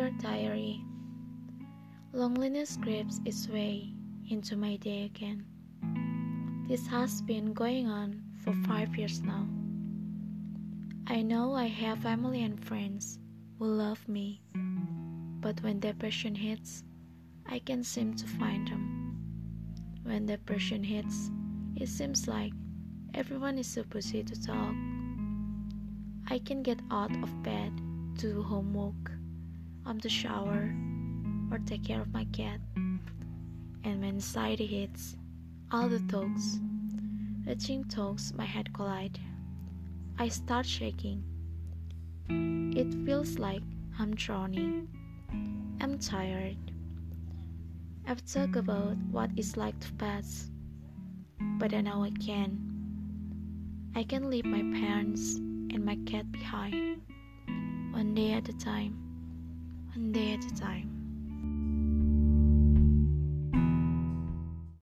Dear Diary, loneliness creeps its way into my day again. This has been going on for 5 years now. I know I have family and friends who love me, but when depression hits, I can't seem to find them. When depression hits, it seems like everyone is so busy to talk. I can get out of bed to do homework, to shower, or take care of my cat. And when anxiety hits, all the talks, reaching talks, my head collide. I start shaking. It feels like I'm drowning. I'm tired. I've talked about what it's like to pass, but I know I can. I can leave my parents and my cat behind, one day at a time, one day at a time.